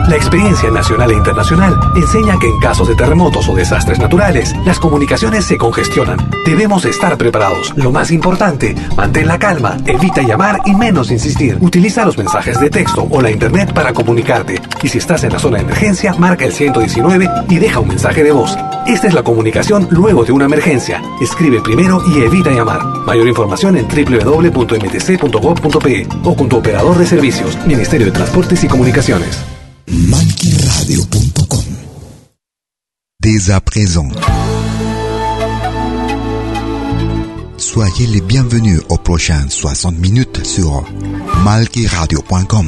La experiencia nacional e internacional enseña que en casos de terremotos o desastres naturales, las comunicaciones se congestionan. Debemos estar preparados. Lo más importante, mantén la calma, evita llamar y menos insistir. Utiliza los mensajes de texto o la internet para comunicarte. Y si estás en la zona de emergencia, marca el 119 y deja un mensaje de voz. Esta es la comunicación luego de una emergencia. Escribe primero y evita llamar. Mayor información en www.mtc.gov.pe o con tu operador de servicios, Ministerio de Transportes y Comunicaciones. Malquiradio.com. Dès à présent, soyez les bienvenus aux prochaines 60 minutes sur malquiradio.com.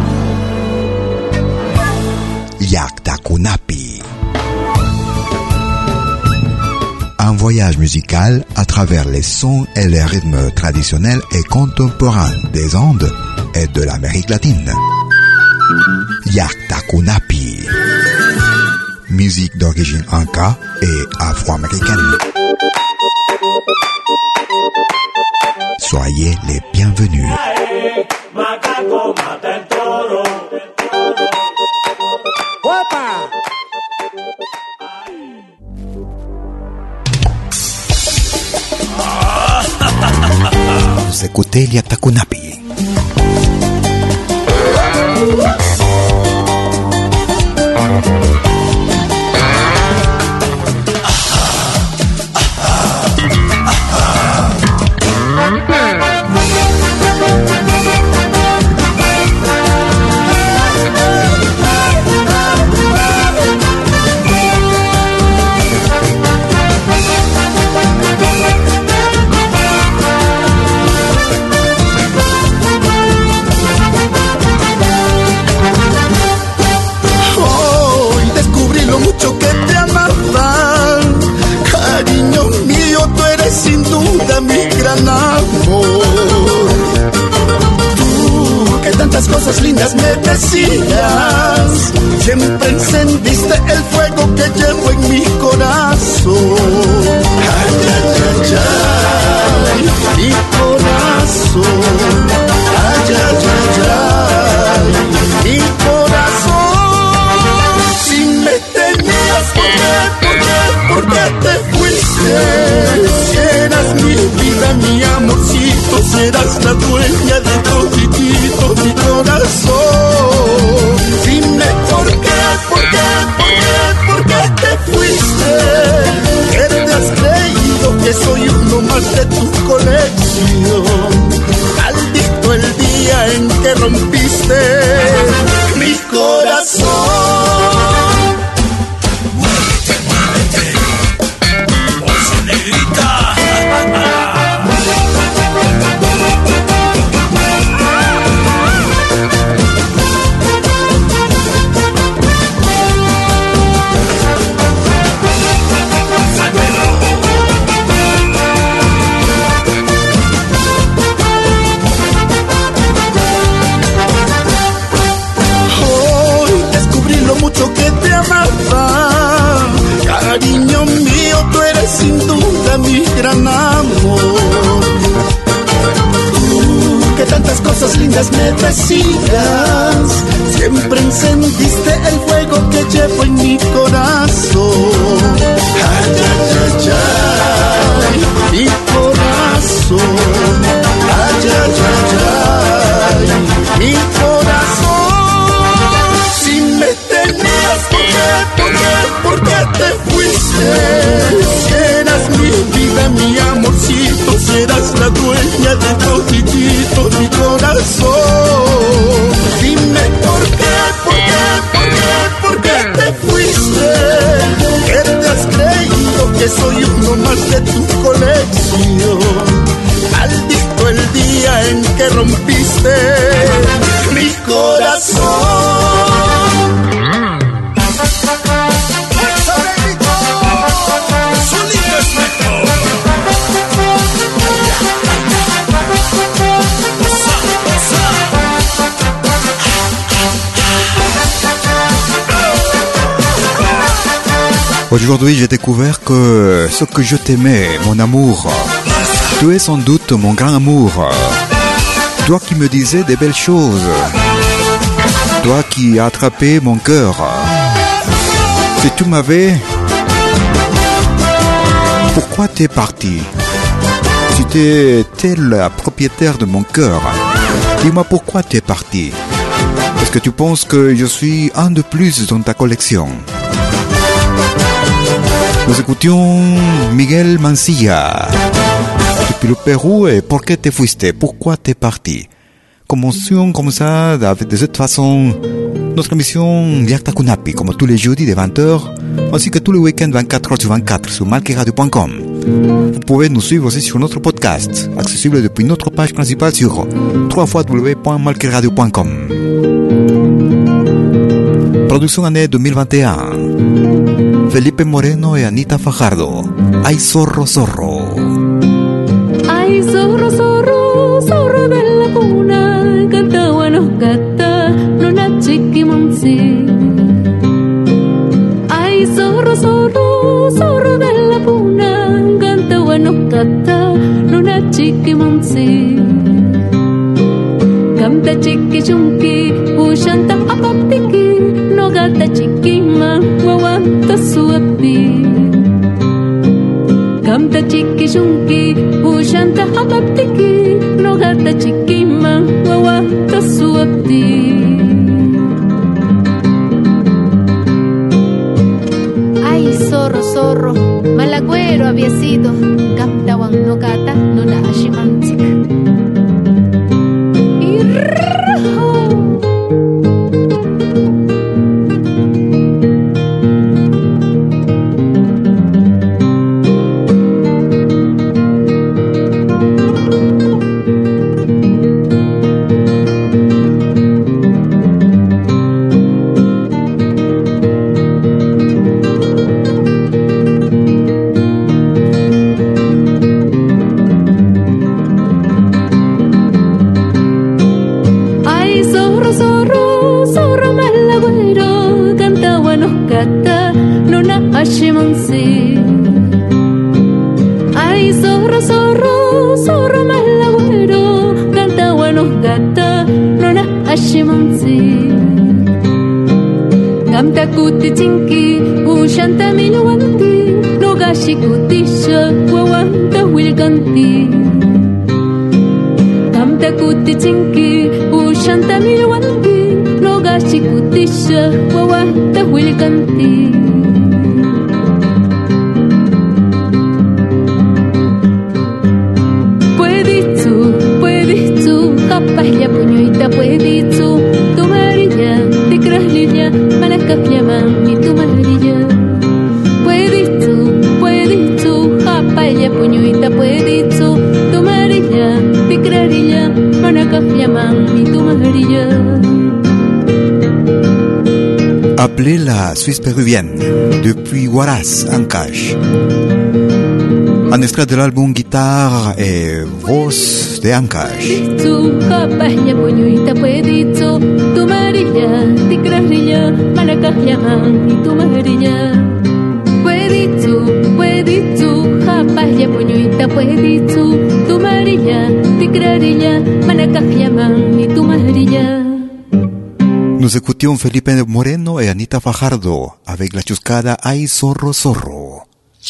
Yaktakunapi. Un voyage musical à travers les sons et les rythmes traditionnels et contemporains des Andes et de l'Amérique latine. Yaktakunapi. Musique d'origine inca et afro-américaine. Soyez les bienvenus. Vous écoutez Yaktakunapi. Cosas lindas me decías, siempre encendiste el fuego que llevo en mi corazón. Ay, ay, ay, ay, mi corazón. Ay, ay, ay, ay, mi corazón. Si me tenías, ¿por qué te fuiste? Si eras mi vida, mi amorcito, serás la dueña de toditito mi corazón. Dime por qué te fuiste. ¿Qué te has creído que soy uno más de tu colección? Maldito el día en que rompiste mi corazón. Muévete, muévete, bolsa negrita. Que te amaba, cariño mío, tú eres sin duda mi gran amor. Tú que tantas cosas lindas me decías, siempre encendiste el fuego que llevo en mi corazón. Ay, ay, ay, ay, mi corazón. Ay, ay, ay, ay, mi corazón. ¿Por qué te fuiste? Si eras mi vida, mi amorcito, serás la dueña de toditito mi corazón. Dime por qué te fuiste. ¿Qué te has creído que soy uno más de tu colección? Maldito el día en que rompiste mi corazón. Aujourd'hui, j'ai découvert que ce que je t'aimais, mon amour, tu es sans doute mon grand amour. Toi qui me disais des belles choses. Toi qui as attrapé mon cœur. Si tu m'avais... Pourquoi t'es parti? Si t'es la propriétaire de mon cœur, dis-moi pourquoi t'es parti. Est-ce que tu penses que je suis un de plus dans ta collection? Nous écoutions Miguel Mancilla depuis le Pérou. Et ¿por qué te fuiste? Pourquoi t'es parti? Commencions comme ça, de cette façon, notre émission Yakta Kunapi, comme tous les jeudis de 20h, ainsi que tous les week-ends 24h sur 24 sur malqueradio.com. Vous pouvez nous suivre aussi sur notre podcast, accessible depuis notre page principale sur www.malqueradio.com. Production année 2021. Felipe Moreno et Anita Fajardo. Ay zorro, zorro. Ay zorro, zorro, zorro de la cuna, canta buenos gata, nuna chiquimonsi. Ay zorro, zorro, zorro de la cuna, canta buenos gata, nuna chiquimonsi. Canta chiqui chunki, ushanta apapiki, no gata chiquima, guaguanta suapi. Canta chiqui chunki, ushanta apapiki, no gata chiquima, guaguanta suapi. Ay zorro, zorro, malagüero había sido, capta wan no gata, no na ashimantik. Ay zorro, zorro, zorro malagüero, canta buenos gata, nona ashimonsi. Canta kuti chinki, ushanta minuanti, no gashi kutisha, guaguanta wilganti. Canta kuti chinki, ushanta minuanti, no gashi kutisha, guaguanta wilganti. Pahya puñuita pueditu, tu marilla, de kraslilla, malacas llaman y tu marilla. Pueditu, japaya puñuita pueditu, tu marilla, de kraslilla, malacas llaman y tu marilla. Appelez la Suisse péruvienne, depuis Huaraz, Ancash. Un extrait de l'album Guitare et Voz de Ancash. Tu capaya puñuita pueditu, tu marilla, de kraslilla, malacas llaman y tu marilla. Pueditu, japaya puñuita pueditu, tu marilla, de kraslilla, malacas llaman y tu marilla. Nous écoutions Felipe Moreno et Anita Fajardo avec la chuscada Ay zorro, zorro.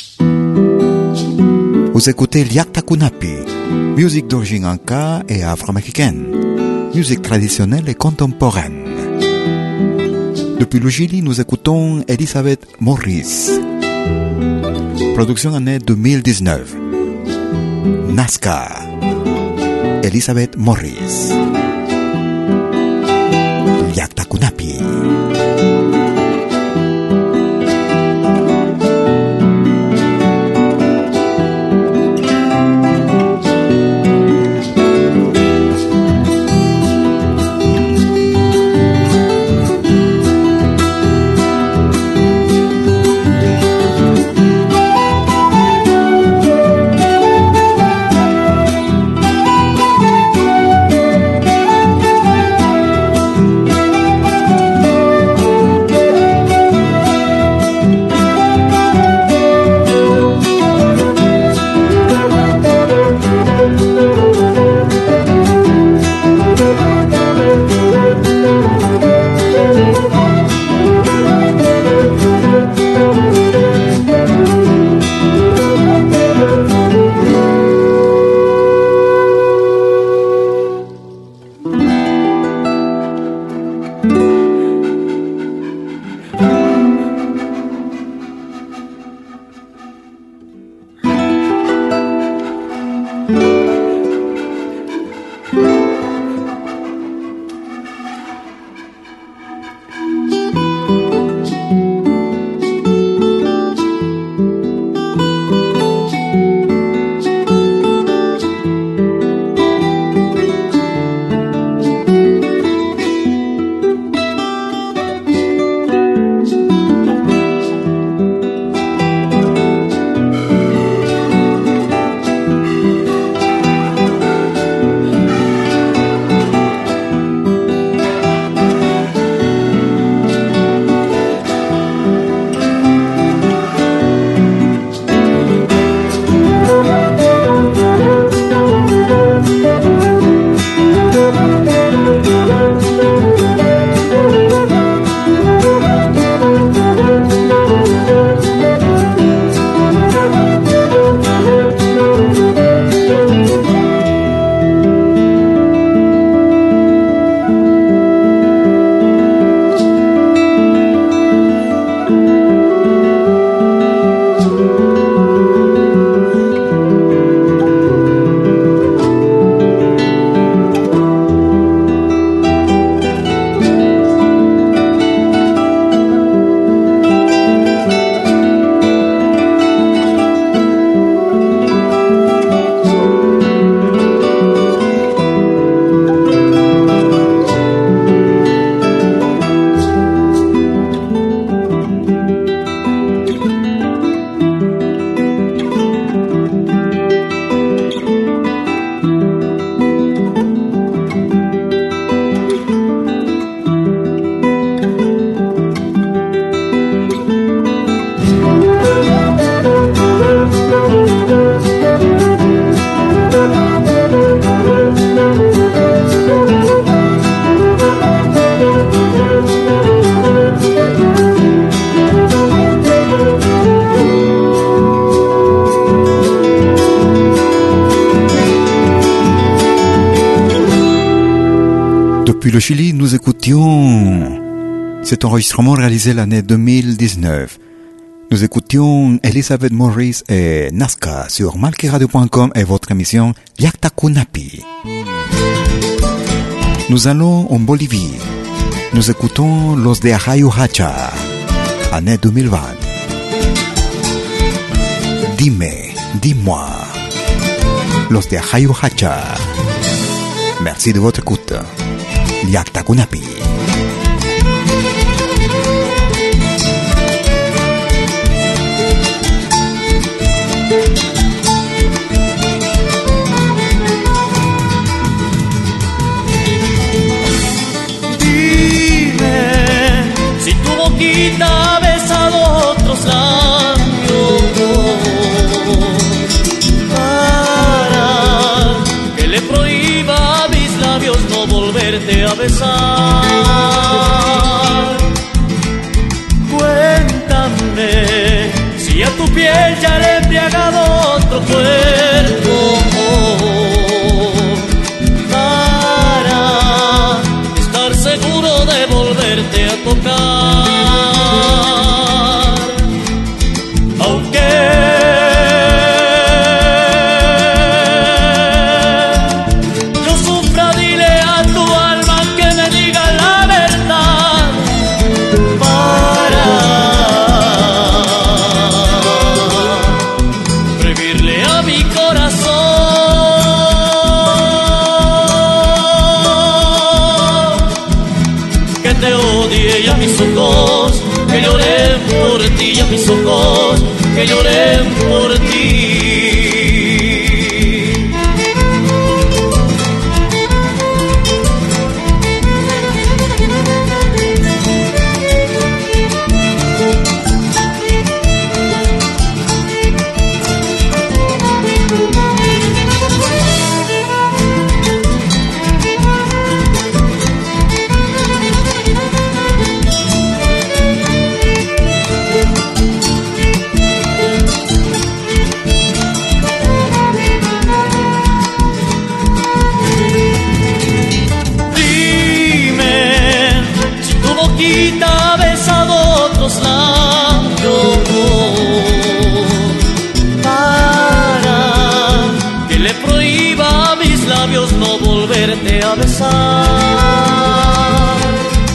Vous écoutez Yakta Kunapi, musique d'origine anka et afro-américaine, musique traditionnelle et contemporaine. Depuis le Chili, nous écoutons Elizabeth Morris. Production année 2019. Nazca. Elizabeth Morris. Yakta Kunapi. Depuis le Chili, nous écoutions cet enregistrement réalisé l'année 2019. Nous écoutions Elizabeth Morris et Nazca sur malquiradio.com et votre émission Yaktakunapi. Nous allons en Bolivie. Nous écoutons Los de Ajayu Hacha, année 2020. Dime, dis-moi. Los de Ajayu Hacha. Merci de votre écoute. Yaktakunapi. Ha besado otros labios para que le prohíba a mis labios no volverte a besar. Cuéntame si a tu piel ya le he embriagado otro cuerpo para estar seguro de volverte a tocar. Que lloren por ti y a mis ojos que lloren por ti. No volverte a besar,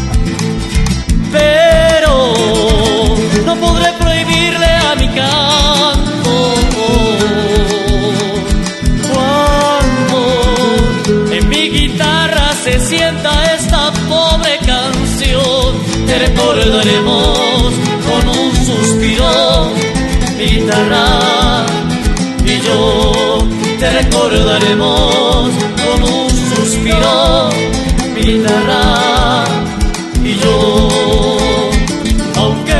pero no podré prohibirle a mi canto cuando en mi guitarra se sienta esta pobre canción. Te recordaremos con un suspiro, mi guitarra y yo. Te recordaremos con un suspiro, mi guitarra y yo. Aunque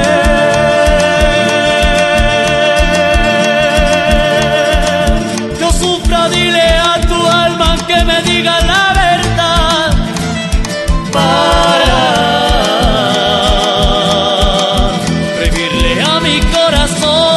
yo sufra, dile a tu alma que me diga la verdad para prohibirle a mi corazón.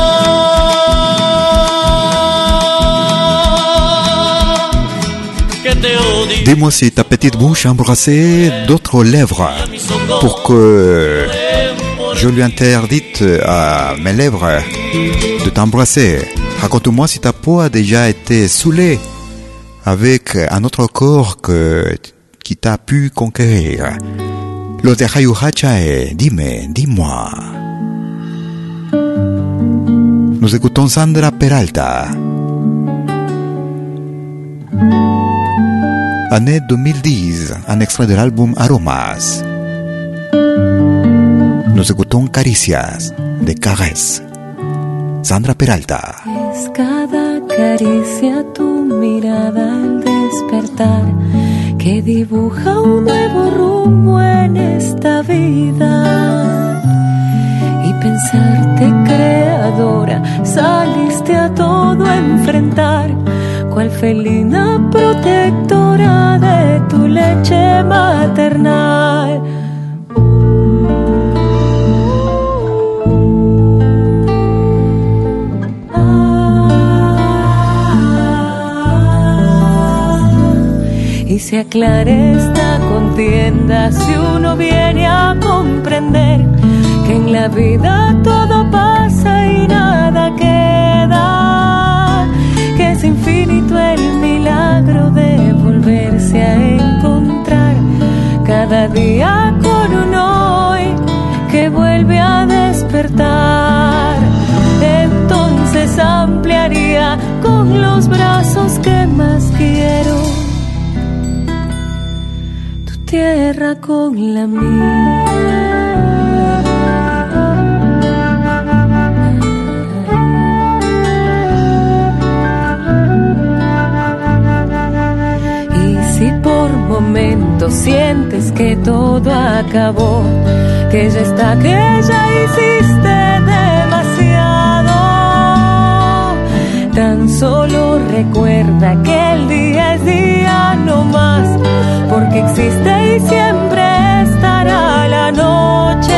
Dis-moi si ta petite bouche a embrassé d'autres lèvres pour que je lui interdite à mes lèvres de t'embrasser. Raconte-moi si ta peau a déjà été saoulée avec un autre corps qui t'a pu conquérir. Los de Ajayu Hacha et Dime, dis-moi. Nous écoutons Sandra Peralta. Année 2010, un extrait de l'album Aromas. Nos écoutons Caricias de Caresse. Sandra Peralta. Es cada caricia tu mirada al despertar que dibuja un nuevo rumbo en esta vida. Y pensarte creadora, saliste a todo a enfrentar, cual felina protectora de tu leche maternal. Y si se aclare esta contienda si uno viene a comprender que en la vida todo pasa y nada queda, que es infinito el milagro de volverse a encontrar cada día con un hoy que vuelve a despertar. Entonces ampliaría con los brazos que más quiero tu tierra con la mía. Por momentos sientes que todo acabó, que ya está, que ya hiciste demasiado. Tan solo recuerda que el día es día no más, porque existe y siempre estará la noche.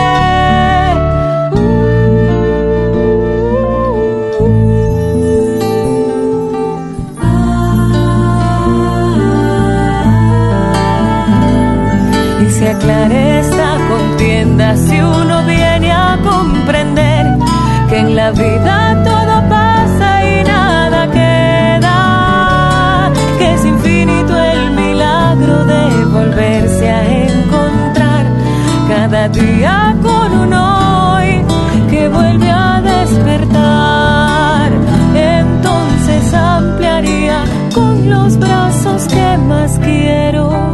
Se aclare esta contienda si uno viene a comprender que en la vida todo pasa y nada queda, que es infinito el milagro de volverse a encontrar cada día con un hoy que vuelve a despertar. Entonces ampliaría con los brazos que más quiero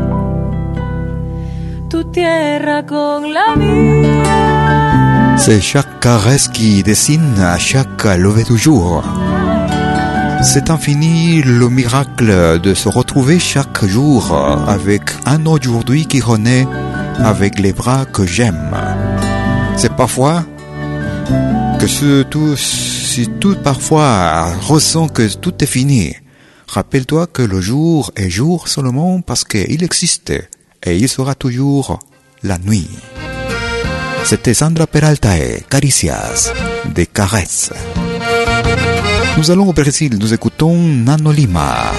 tu tierra con la mía. C'est chaque caresse qui dessine à chaque lever du jour. C'est infini le miracle de se retrouver chaque jour avec un aujourd'hui qui renaît avec les bras que j'aime. C'est parfois que si tout parfois ressent que tout est fini, rappelle-toi que le jour est jour seulement parce qu'il existe. Et il sera toujours la nuit. C'était Sandra Peralta et Caricias, des caresses. Nous allons au Brésil, nous écoutons Nano Lima.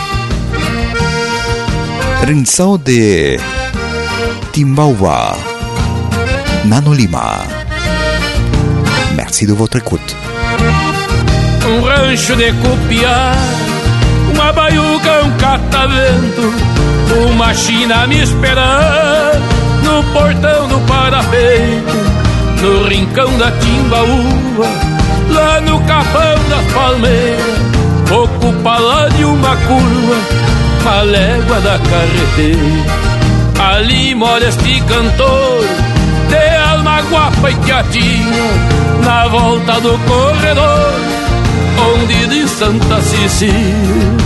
Rinçao de Timbaúba, Nano Lima. Merci de votre écoute. Rancho de copiar, uma baiuca, catavento, uma china me esperando no portão do parapeito, no rincão da Timbaúba, lá no capão das palmeiras, ocupa lá de uma curva a légua da carreteira. Ali mora este cantor de alma guapa e teatinha, na volta do corredor onde de Santa Cecília.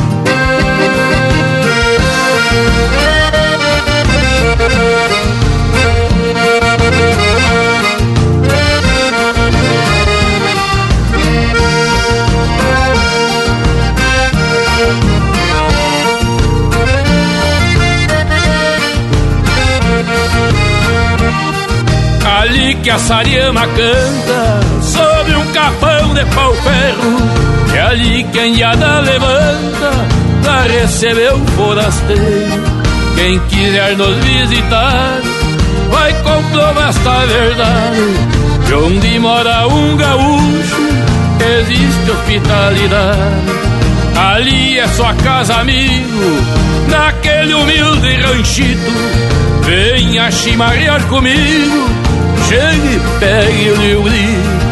Ali que a Sariama canta sobre um capão de pau-ferro, é ali que a Indiada levanta pra receber o forasteiro. Quem quiser nos visitar vai comprovar esta verdade, de onde mora um gaúcho existe hospitalidade. Ali é sua casa, amigo, naquele humilde ranchito. Venha chimarrear comigo, chegue e pegue o meu grito.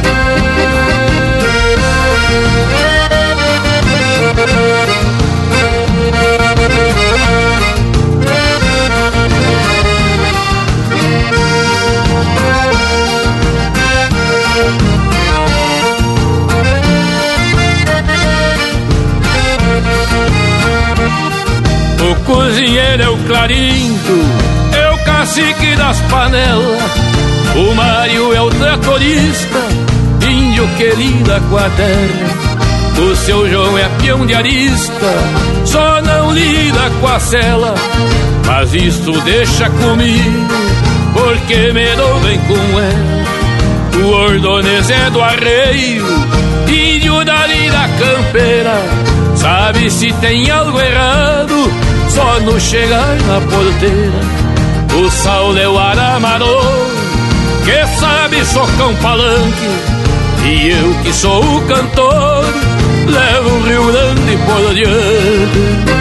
O cozinheiro é o Clarindo, é o cacique das panelas. O Mário é o tratorista, índio que lida com a terra. O seu João é peão de arista, só não lida com a cela. Mas isto deixa comigo, porque me dou bem com ela. O Ordonez é do arreio, índio dali da campeira. Sabe se tem algo errado só no chegar na porteira, o Saulo é o aramador, que sabe socar um palanque, e eu que sou o cantor, levo o Rio Grande por diante.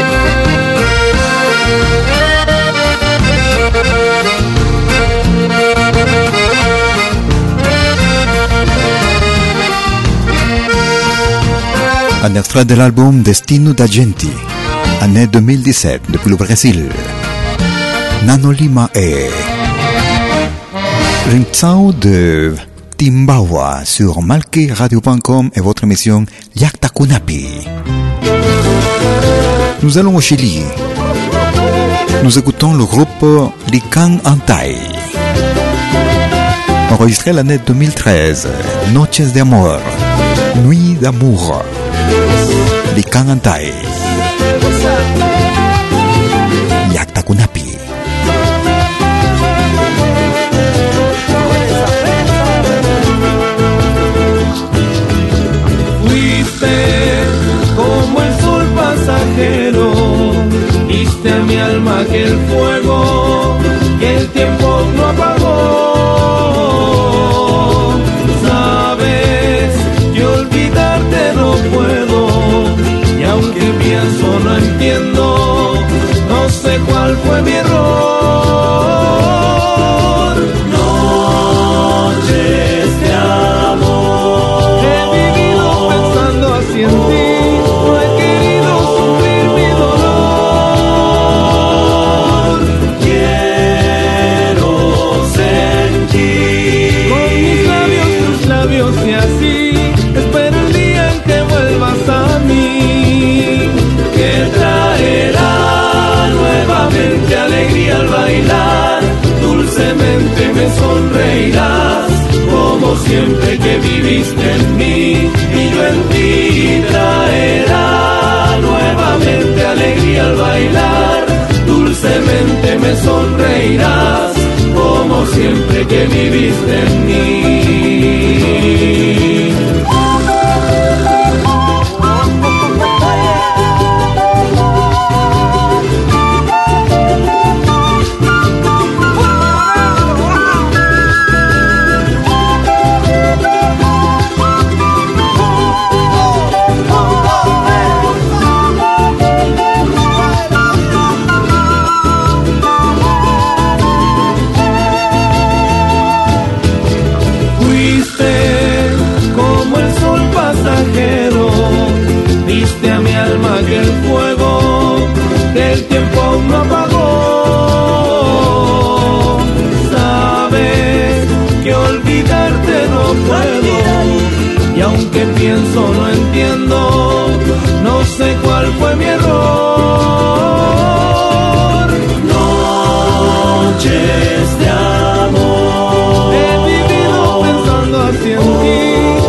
Un extrait de l'album Destino da Gente, année 2017, depuis le Brésil. Nano Lima et Rinzao de Timbawa sur malquiradio.com et votre émission Yakta Kunapi. Nous allons au Chili. Nous écoutons le groupe Lican Antay. Enregistré l'année 2013, Noches de Amor, Nuit d'amour. Lican Antay. Yakta Kunapi. Como el sol pasajero, diste a mi alma aquel fuego que el tiempo no apagó. Sabes que olvidarte no puedo, y aunque pienso no entiendo, no sé cuál fue mi error. Noches de amor, he vivido pensando así en ti. Y así espero el día en que vuelvas a mí, que traerá nuevamente alegría al bailar, dulcemente me sonreirás, como siempre que viviste en mí, y yo en ti. Traerá nuevamente alegría al bailar, dulcemente me sonreirás, como siempre que viviste en mí. Diste a mi alma aquel fuego que el tiempo aún no apagó. Sabes que olvidarte no puedo, y aunque pienso no entiendo, no sé cuál fue mi error. Noches de amor, he vivido pensando así en ti.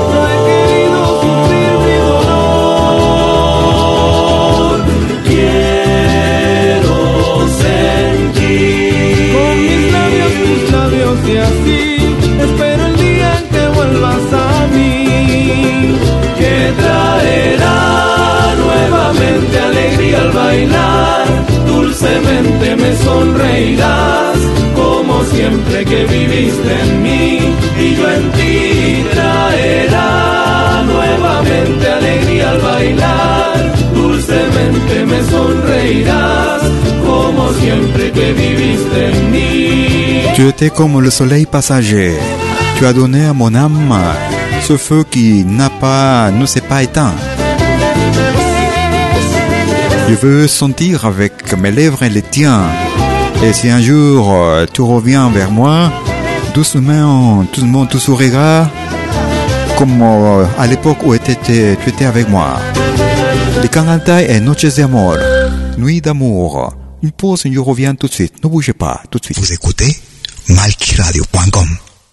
Y así espero el día en que vuelvas a mí, que traerá nuevamente alegría al bailar, dulcemente me sonreirás, como siempre que viviste en mí, y yo en ti. Traerá nuevamente alegría al bailar, dulcemente me sonreirás, como siempre que viviste en mí. Tu étais comme le soleil passager. Tu as donné à mon âme ce feu qui ne s'est pas éteint. Je veux sentir avec mes lèvres les tiens. Et si un jour tu reviens vers moi, doucement, tu souriras comme à l'époque où tu étais avec moi. Lican Antay et Noches de Amor, Nuit d'amour. Une pause et je reviens tout de suite. Ne bougez pas, tout de suite. Vous écoutez malquiradio.com.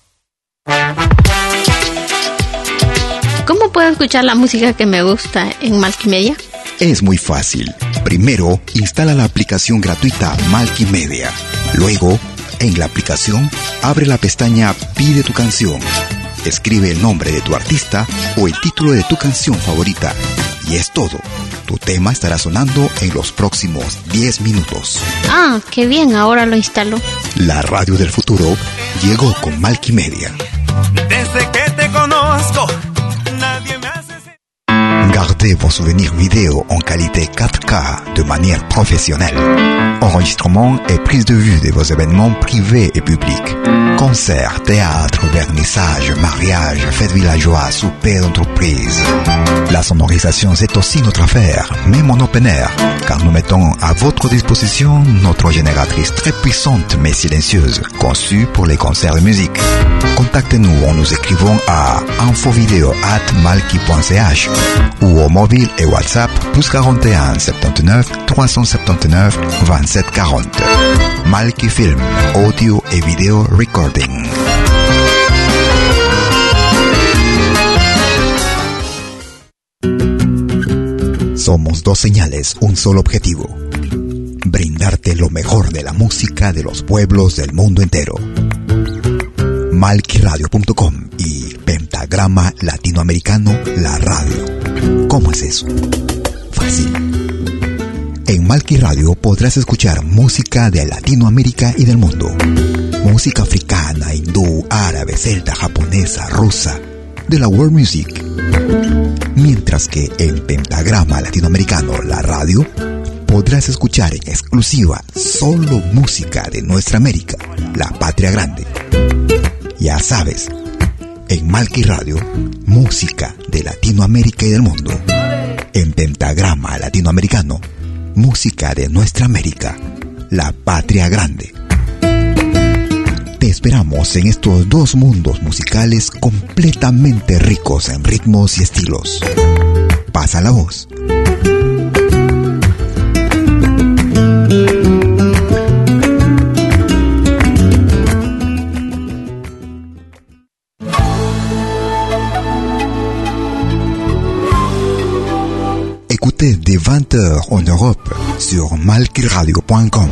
¿Cómo puedo escuchar la música que me gusta en Malquimedia? Es muy fácil. Primero, instala la aplicación gratuita Malquimedia. Luego, en la aplicación, abre la pestaña Pide tu canción. Escribe el nombre de tu artista o el título de tu canción favorita. Y es todo. Tu tema estará sonando en los próximos 10 minutos. Ah, qué bien, ahora lo instalo. La radio del futuro llegó con Malky Media. Desde que te conozco, nadie me hace... Gardez vos souvenirs vidéo en qualité 4K de manière professionnelle. Enregistrement et prise de vue de vos événements privés et publics. Concerts, théâtre, vernissage, mariage, fêtes villageois, souper d'entreprise. La sonorisation, c'est aussi notre affaire, même en open air, car nous mettons à votre disposition notre génératrice très puissante mais silencieuse, conçue pour les concerts de musique. Contactez-nous en nous écrivant à infovideo@malky.ch ou au mobile et WhatsApp +41 79 379 27 40. Malky Film, audio et vidéo recording. Somos dos señales, un solo objetivo. Brindarte lo mejor de la música de los pueblos del mundo entero. malkyradio.com y Pentagrama Latinoamericano, la radio. ¿Cómo es eso? Fácil. En Malky Radio podrás escuchar música de Latinoamérica y del mundo. Música africana, hindú, árabe, celta, japonesa, rusa, de la world music. Mientras que en Pentagrama Latinoamericano, la radio, podrás escuchar en exclusiva solo música de nuestra América, la patria grande. Ya sabes, en Malky Radio, música de Latinoamérica y del mundo. En Pentagrama Latinoamericano, música de nuestra América, la patria grande. Te esperamos en estos dos mundos musicales completamente ricos en ritmos y estilos. Pasa la voz. Écoutez dès 20h en Europe sur malkyradio.com.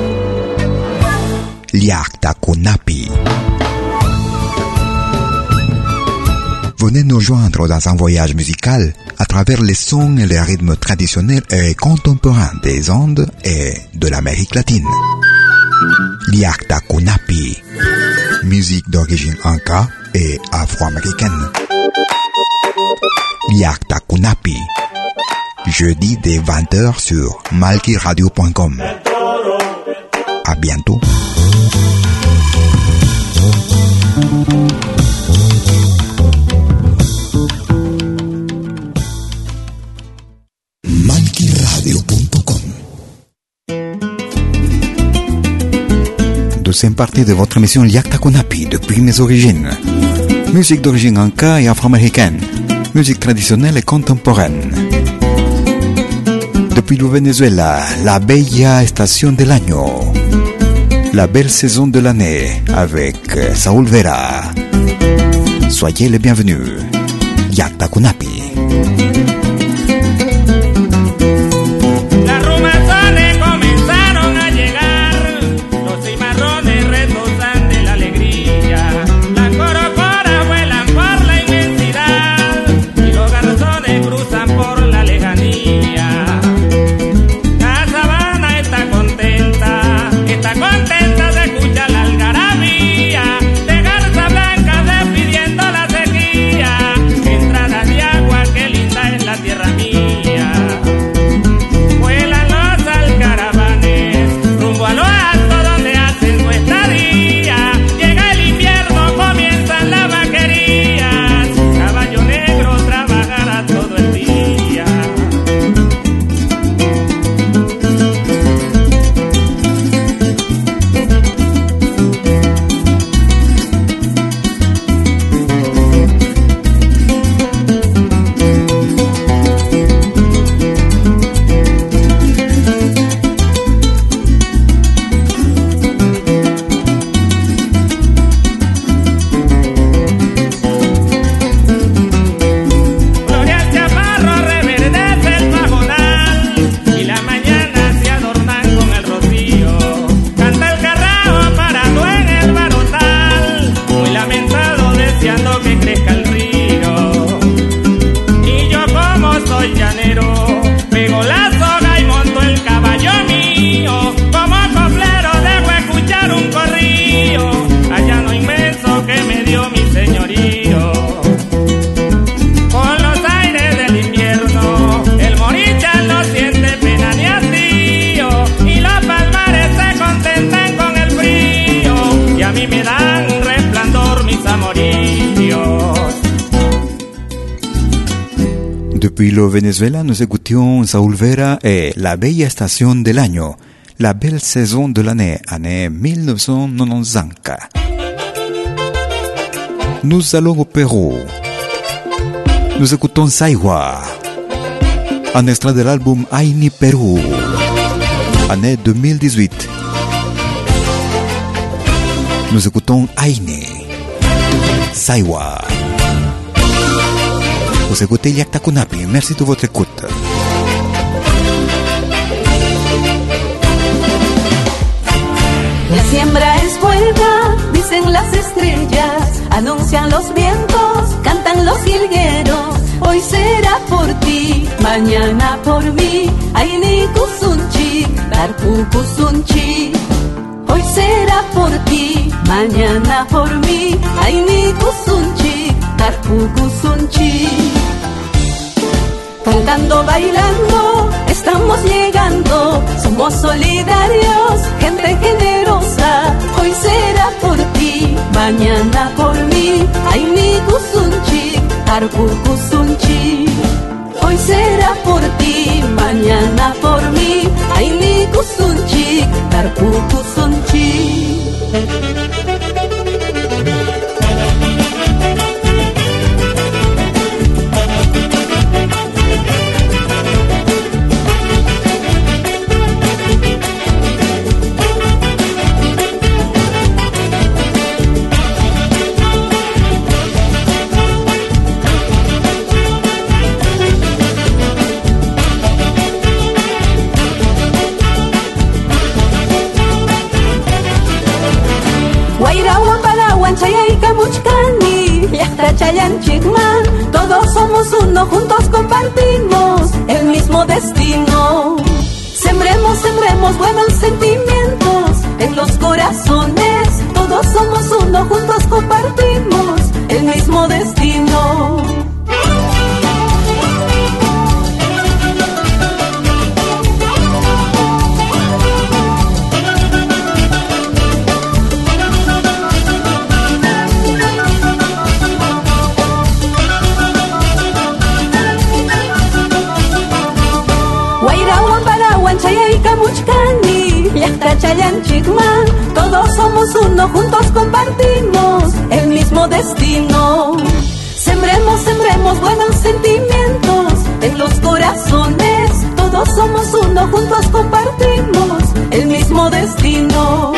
Liakta Kunapi. Venez nous joindre dans un voyage musical à travers les sons et les rythmes traditionnels et contemporains des Andes et de l'Amérique latine. Liakta Kunapi. Musique d'origine inca et afro-américaine. Liakta Kunapi. Jeudi dès 20h sur malkyradio.com. À bientôt. malkyradio.com. Deuxième partie de votre émission Liakta Kunapi depuis mes origines. Musique d'origine inca et afro-américaine. Musique traditionnelle et contemporaine. Depuis le Venezuela, la bella estación del año. La belle saison de l'année avec Saúl Vera. Soyez les bienvenus. Liakta Kunapi. Entradas de agua, qué linda es gran resplandor mis amorillos. Depuis le Venezuela, nous écoutions Saúl Vera et La Bella Estación del Año, la belle saison de l'année, année 1995. Nous allons au Pérou. Nous écoutons Saiwa, un extrait de l'album Aini Perú, année 2018. Nous écoutons Aini, Saiwa. Vous écoutez Llacta Kunapi, merci de votre écoute. La siembra es buena, dicen las estrellas, anuncian los vientos, cantan los jilgueros. Hoy será por ti, mañana por mí. Aini kusunchi, tarpu kusunchi. Hoy será por ti, mañana por mí. Aini kusunchi, tarpu kusunchi. Cantando, bailando, estamos llegando, somos solidarios, gente generosa. Hoy será por ti, mañana por mí. Aini kusunchi, tarpu kusunchi. Hoy será por ti, mañana por mí. Aini kusunchi, tarpu kusunchi. Chayan Chigman, todos somos uno, juntos compartimos el mismo destino. Sembremos, sembremos buenos sentimientos en los corazones. Todos somos uno, juntos compartimos el mismo destino. Chayan Chigman, todos somos uno, juntos compartimos el mismo destino. Sembremos, sembremos buenos sentimientos en los corazones. Todos somos uno, juntos compartimos el mismo destino.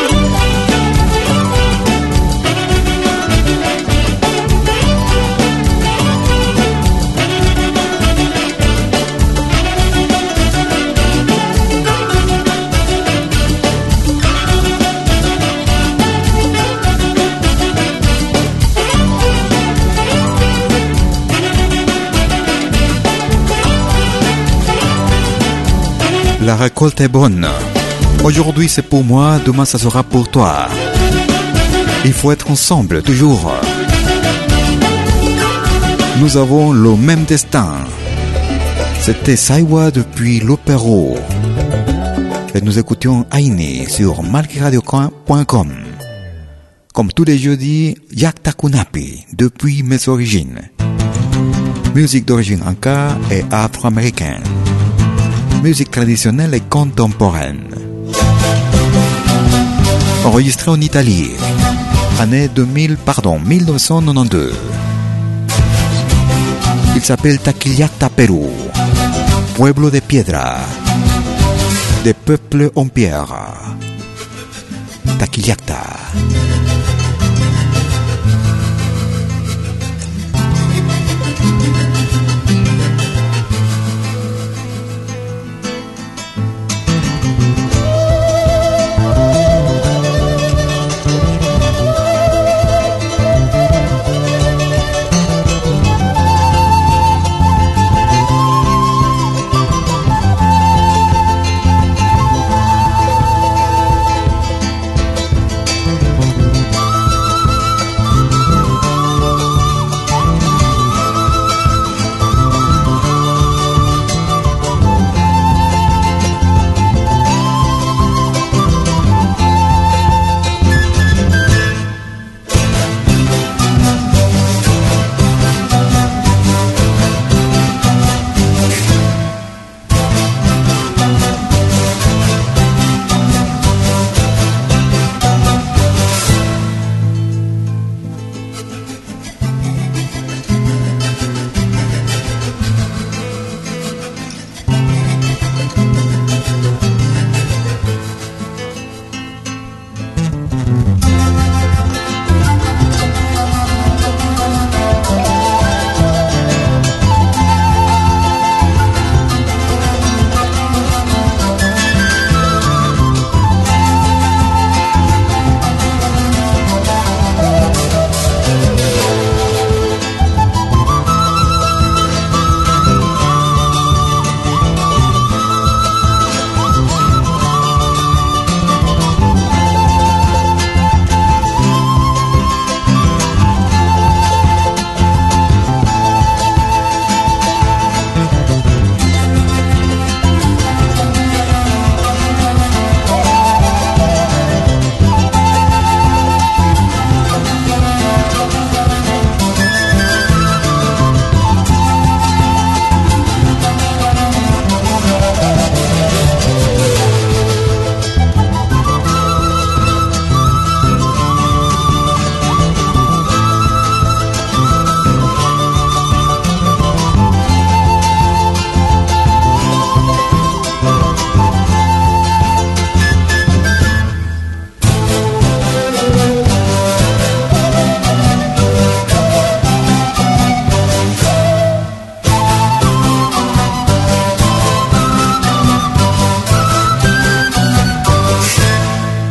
La récolte est bonne. Aujourd'hui c'est pour moi, demain ça sera pour toi. Il faut être ensemble, toujours. Nous avons le même destin. C'était Saiwa depuis le Pérou. Et nous écoutions Aini sur malkiradio.com. Comme tous les jeudis, Llacta Kunapi, depuis mes origines. Musique d'origine inca et afro-américaine. Musique traditionnelle et contemporaine. Enregistré en Italie, année 1992. Il s'appelle Taquillacta Perú, pueblo de piedra, des peuples en pierre. Taquillacta.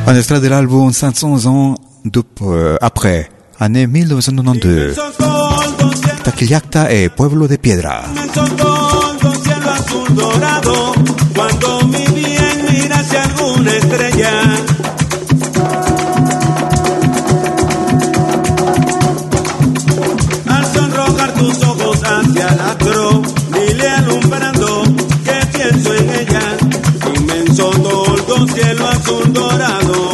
Un extrait de l'album 500 ans après, année 1992. Taquillacta et Pueblo de Piedra. Cuando mi bien mira hacia alguna estrella, al sonrojar tus ojos hacia el astro, dile alumbrando que pienso en ella, inmenso toldo, cielo azul dorado.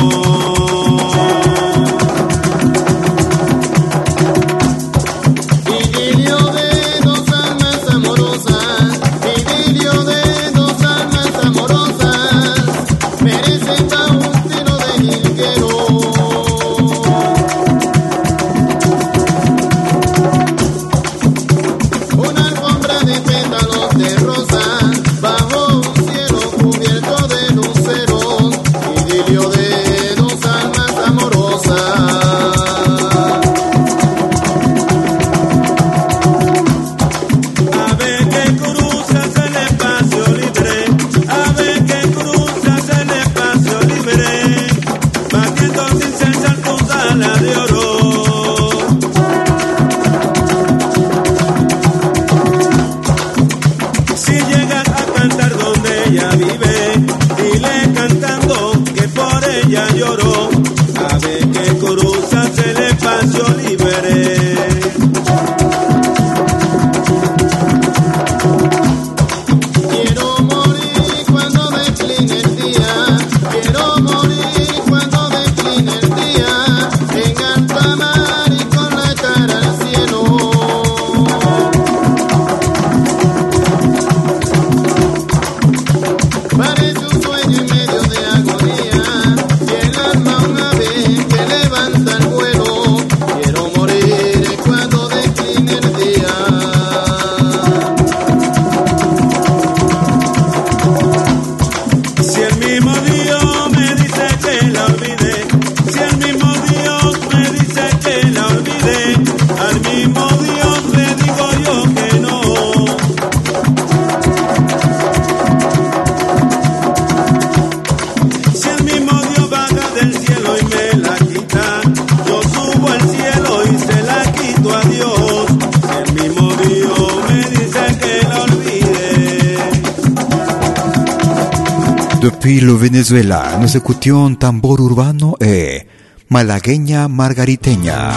Depuis le Venezuela, nous écoutions tambor urbano et malagueña margariteña.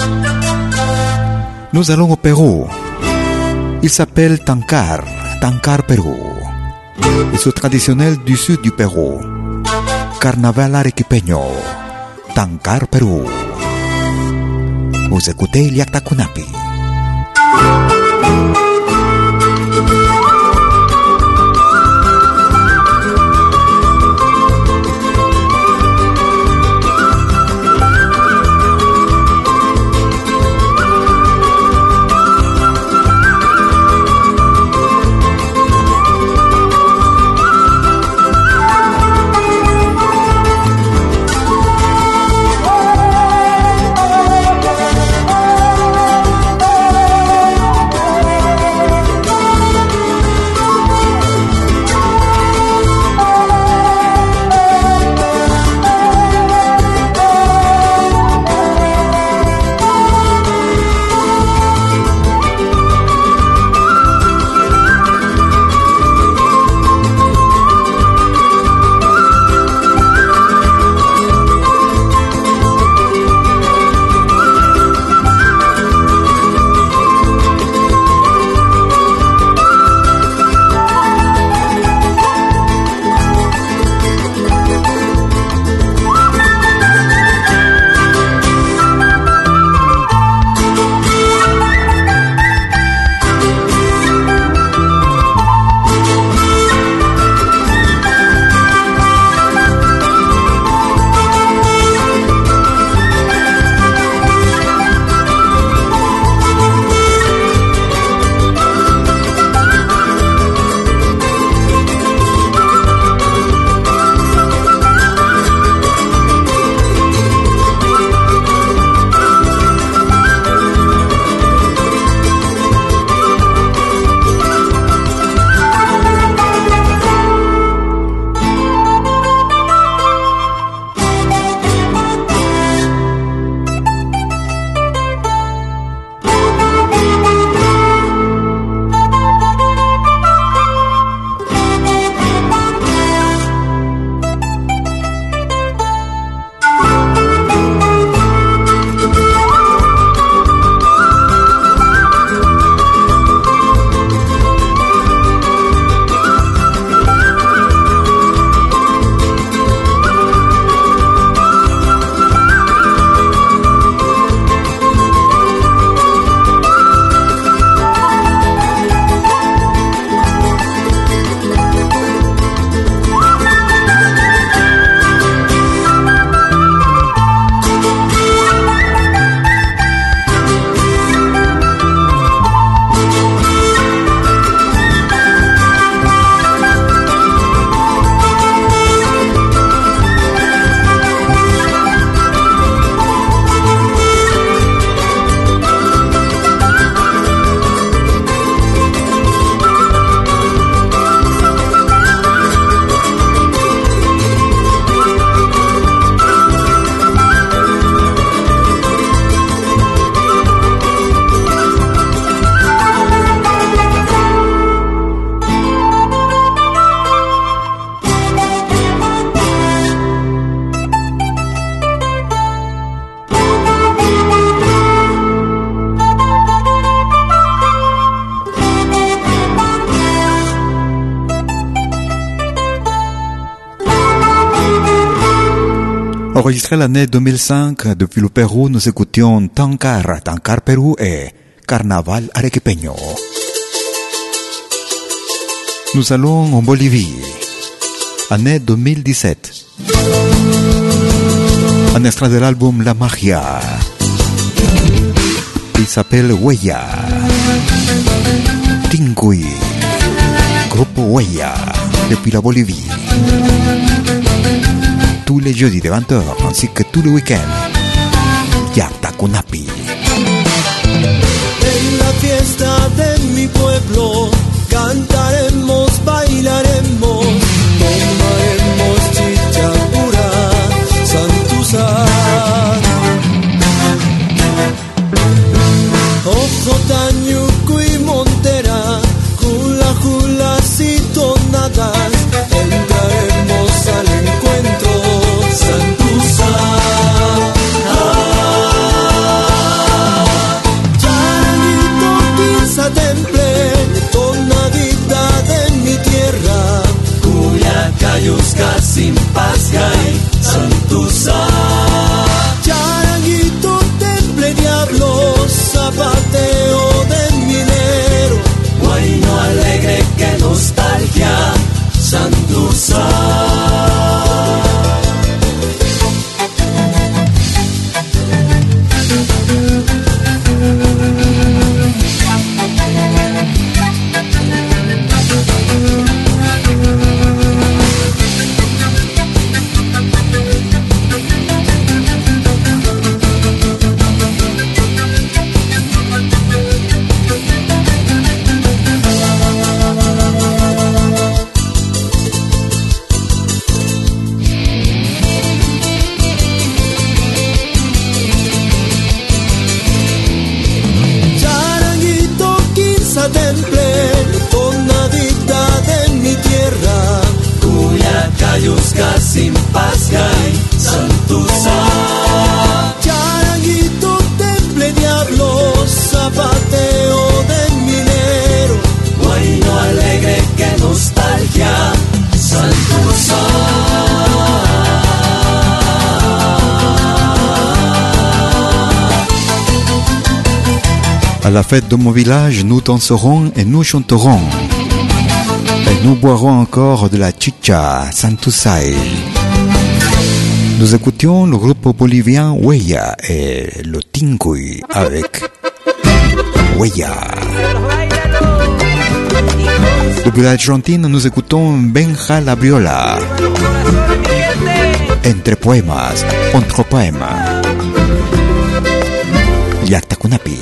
Nous allons au Pérou. Il s'appelle Tancar, Tancar Pérou. Es traditionnel du sud du Pérou. Carnaval arequipeño, Tancar Pérou. Vous écoutez Iliacta Kunapi. Enregistré l'année 2005 depuis le Pérou, nous écoutions Tancar, Tancar Pérou et Carnaval Arequipeño. Nous allons en Bolivie, année 2017. Un extrait de l'album La Magia. Il s'appelle Huella. Tingui, groupe Huella, depuis la Bolivie. Tous les jeudis de 20h, ainsi que tous les week-ends. Yatacunapi. En la fiesta de mi pueblo cantaremos, bailaremos, tomaremos chicha pura, santuza. Ojo, Tañuco y Montera, hula, hulas y tonadas, entraremos al encuentro, santuza. Temple, tonadita de mi tierra, Cuyacayusca, Simpascay, Santuza. Charanguito, temple, diablo, zapateo de minero, guayno alegre, que nostalgia, Santuza. Simpascay, Santuza. Charanguito, temple, diablo, zapateo de minero, guayno alegre, que nostalgia, Santuza. À la fête de mon village, nous danserons et nous chanterons. Et nous boirons encore de la chicha, Santusay. Nous écoutions le groupe bolivien Huella et le Tingui avec Huella. Depuis l'Argentine, nous écoutons Benja Labriola. Entre poemas, entre poemas. Yatacunapi.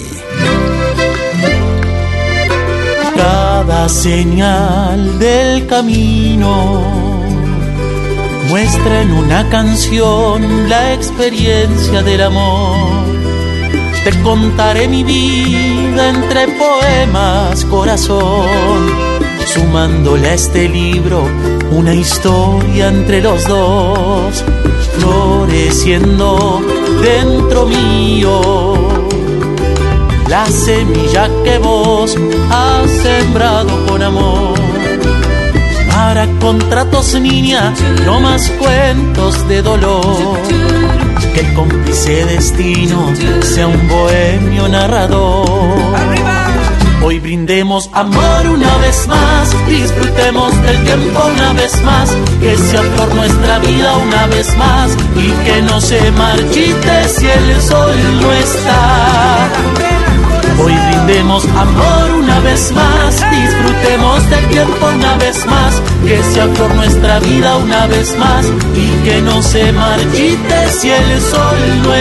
Cada señal del camino muestra en una canción la experiencia del amor. Te contaré mi vida entre poemas, corazón, sumándole a este libro una historia entre los dos, floreciendo dentro mío la semilla que vos has sembrado con amor. Para contratos, niña, no más cuentos de dolor. Que el cómplice destino sea un bohemio narrador. Hoy brindemos amor una vez más, disfrutemos del tiempo una vez más, que sea flor nuestra vida una vez más y que no se marchite si el sol no está. Hoy brindemos amor una vez más, disfrutemos del tiempo una vez más, que sea flor nuestra vida una vez más y que no se marchite si el sol no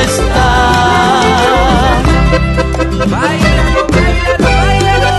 está. Báilalo, báilalo, báilalo.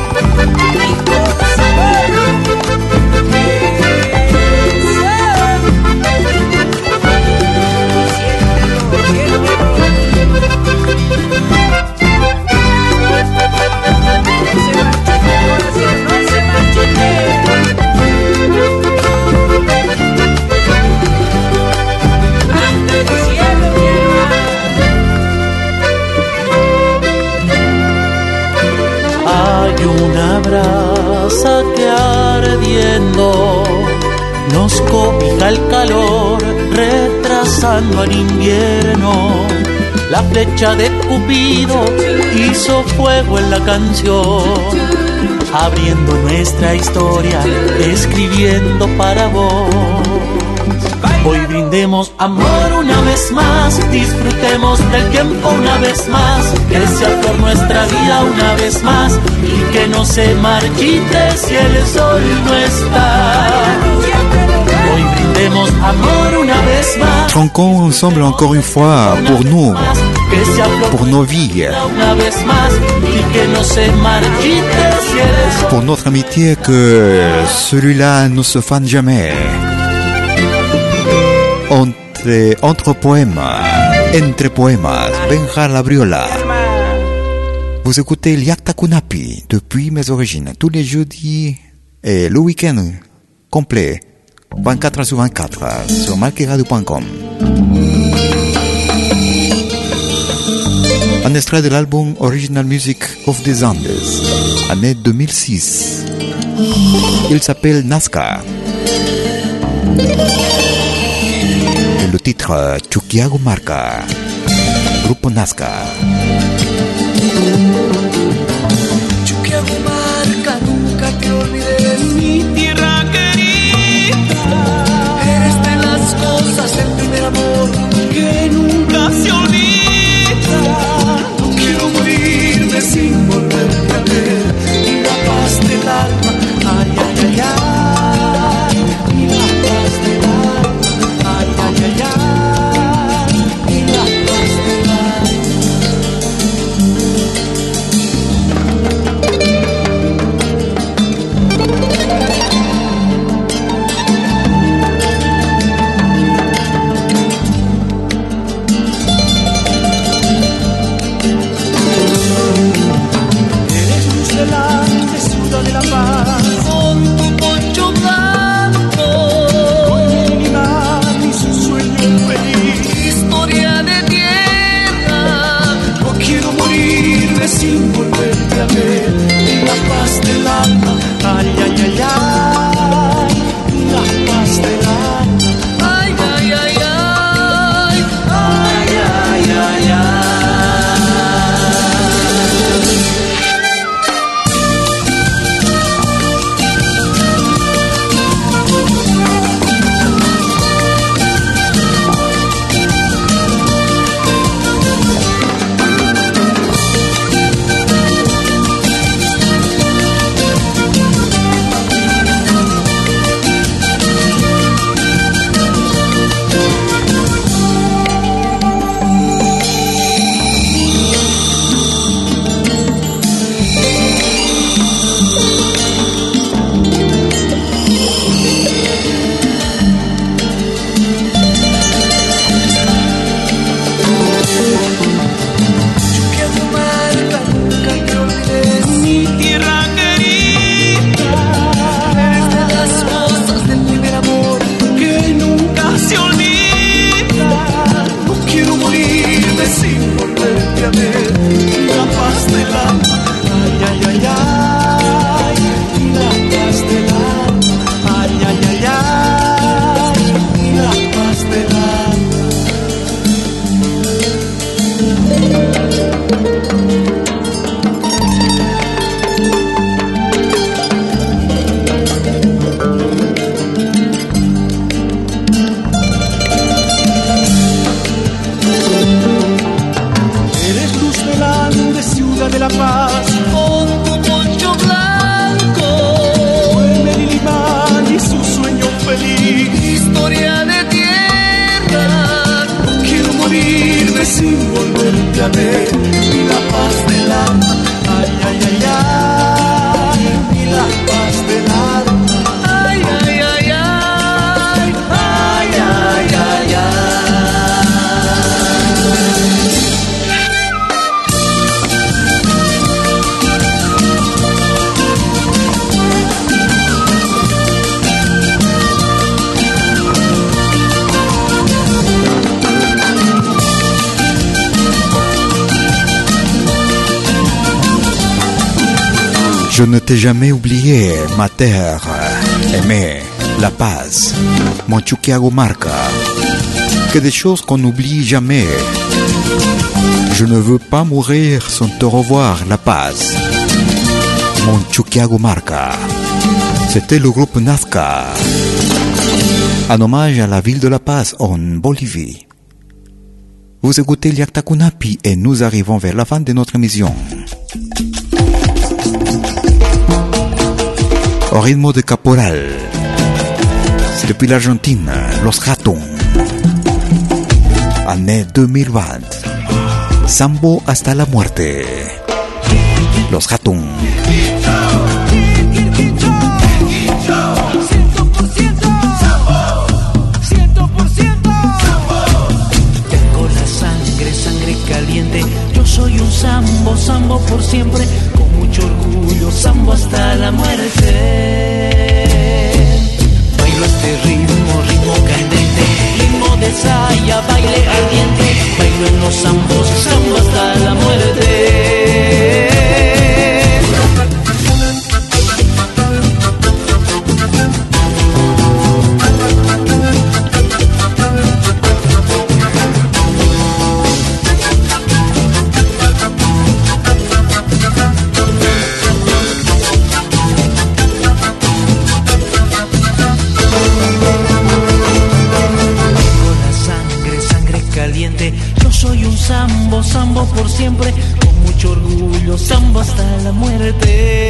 Una brasa que ardiendo nos cobija el calor, retrasa regresando al invierno. La flecha de Cupido hizo fuego en la canción, abriendo nuestra historia, escribiendo para vos. Hoy brindemos amor una vez más, disfrutemos del tiempo una vez más, que sea por nuestra vida una vez más y que no se marchite si el sol no está. Hoy brindemos amor una vez más. Tronquons ensemble encore une fois pour nous, pour nos vies, pour notre amitié, que celui-là ne se fane jamais. Entre poèmes, entre poèmes, Benjar Labriola. Vous écoutez Liakta Kunapi depuis mes origines, tous les jeudis et le week-end complet, 24 sur 24, sur malkiradio.com. Un extrait de l'album Original Music of the Andes, année 2006. Il s'appelle Nazca. Et le titre Chuquiago Marca, Grupo Nazca. Chuquiago Marca, nunca te olvides, mi tierra querida. Eres de las cosas del primer amor que nunca se olvida. No quiero morirme sin volverte a ver, y la paz del alma, ay, ay, ay, ay, y la paz del alma, ay, ay, ay, ay, y la paz del alma. De la paz, con tu poncho blanco, con mi animal y su sueño feliz, historia de tierra. No quiero morirme sin volverte a ver, y la paz del alma, ay, ay, ay, ay, y la paz del alma, ay, ay, ay, ay, ay, ay, ay, ay. Je ne t'ai jamais oublié, ma terre aimée, la paz, mon Chuquiago Marca. que des choses qu'on n'oublie jamais. Je ne veux pas mourir sans te revoir, La Paz. Mon Chuquiago Marca. C'était le groupe Nazca, en hommage à la ville de La Paz, en Bolivie. Vous écoutez Llacta Cunapi et nous arrivons vers la fin de notre émission. Au rythme de Caporal, depuis l'Argentine, Los Ratons, année 2020, Sambo hasta la muerte, Los Ratons. Caliente, yo soy un sambo, sambo por siempre, con mucho orgullo, sambo hasta la muerte. Bailo este ritmo, ritmo candente, ritmo de saya, baile ardiente, bailo en los zambos, sambo hasta la muerte. Sambo, sambo por siempre, con mucho orgullo, sambo hasta la muerte.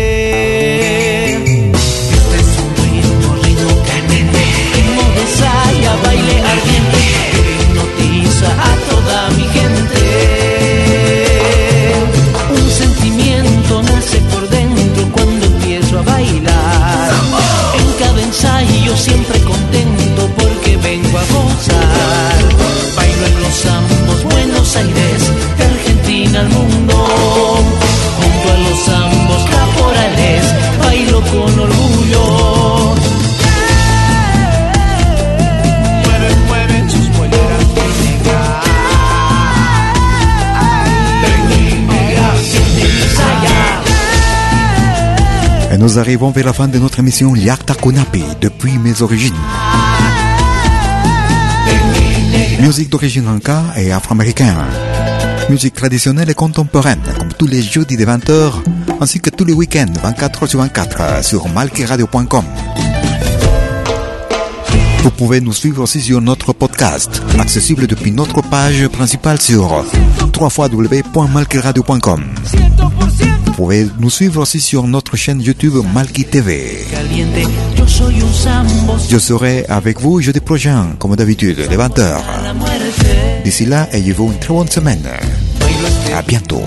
Este es un ritmo, ritmo candente, ritmo de saya, baile ardiente, que hipnotiza a toda mi gente. Un sentimiento nace por dentro cuando empiezo a bailar. En cada ensayo siempre contento porque vengo a gozar. Bailo en los zambos, Buenos Aires, de Argentina al mundo, junto a los zambos caporales, bailo con orgullo. Mueven, mueven sus poleras de negra, Et nous arrivons vers la fin de notre émission Llacta Cunapi, depuis mes origines. Musique d'origine inca et afro-américaine. Musique traditionnelle et contemporaine, comme tous les jeudis de 20h, ainsi que tous les week-ends, 24h sur 24, sur malquiradio.com. Vous pouvez nous suivre aussi sur notre podcast, accessible depuis notre page principale sur www.malquiradio.com. Vous pouvez nous suivre aussi sur notre chaîne YouTube Malqui TV. Je serai avec vous jeudi prochain, comme d'habitude, les 20h. D'ici là, ayez-vous une très bonne semaine. À bientôt.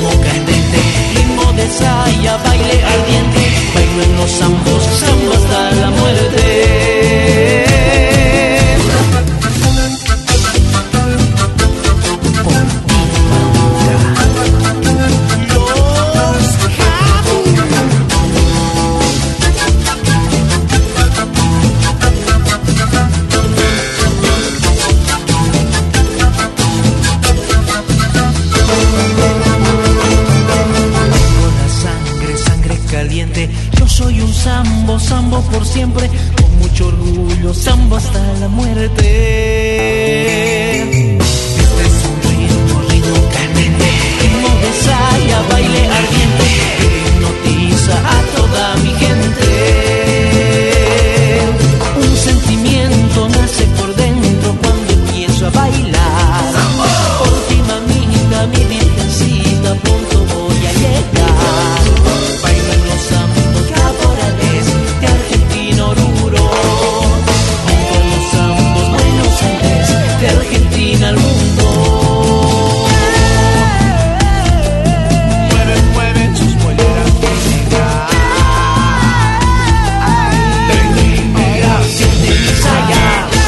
Sambo, sambo por siempre, con mucho orgullo, sambo hasta la muerte. Este es un ritmo, ritmo candente, ritmo de saya, baile ardiente, que hipnotiza a toda mi gente. Un sentimiento nace por dentro cuando empiezo a bailar. Por ti, mamita, mi virgencita, pronto voy a llegar. Bailo en los zambos caporales de Argentina Oruro, junto a los zambos Buenos Aires, de Argentina al mundo. Mueven, mueven sus poleras de negra, de negra, siente mi saya.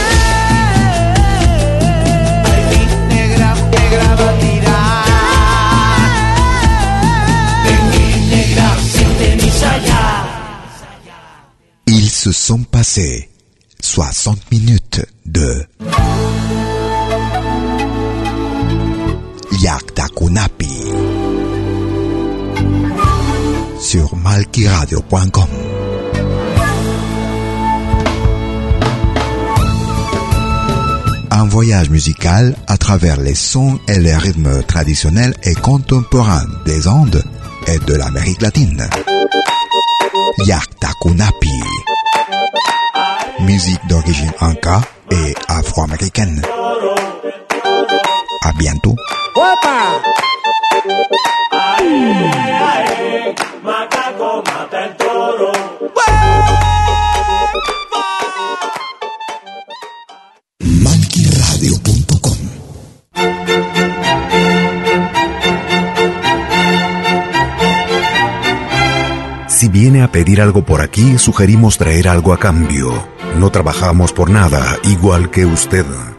Ay, mi negra, negra va a tirar. De mi negra, siente mi saya. Ils se sont passés 60 minutes de Llacta Cunapi sur malquiradio.com. un voyage musical à travers les sons et les rythmes traditionnels et contemporains des Andes et de l'Amérique latine. Yaktakunapi, musique d'origine inca et afro-américaine. À bientôt. Malquiradio.com. Si viene a pedir algo por aquí, sugerimos traer algo a cambio. No trabajamos por nada, igual que usted.